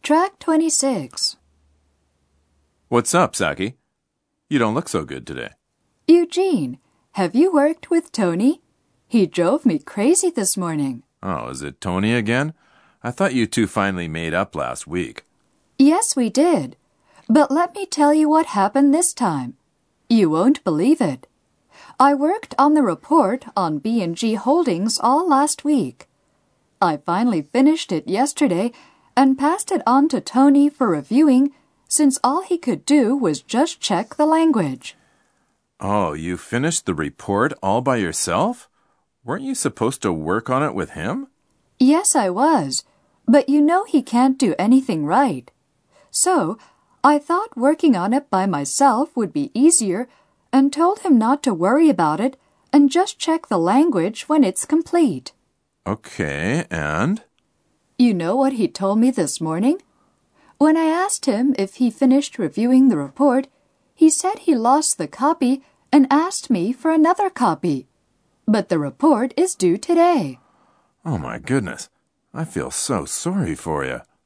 Track 26. What's up, Saki? You don't look so good today. Eugene, have you worked with Tony? He drove me crazy this morning. Oh, is it Tony again? I thought you two finally made up last week. Yes, we did. But let me tell you what happened this time. You won't believe it. I worked on the report on B&G Holdings all last week. I finally finished it yesterday and passed it on to Tony for reviewing since all he could do was just check the language. Oh, you finished the report all by yourself? Weren't you supposed to work on it with him? Yes, I was. But you know he can't do anything right. So, I thought working on it by myself would be easier and told him not to worry about it and just check the language when it's complete. Okay, and? You know what he told me this morning? When I asked him if he finished reviewing the report, he said he lost the copy and asked me for another copy. But the report is due today. Oh my goodness, I feel so sorry for you.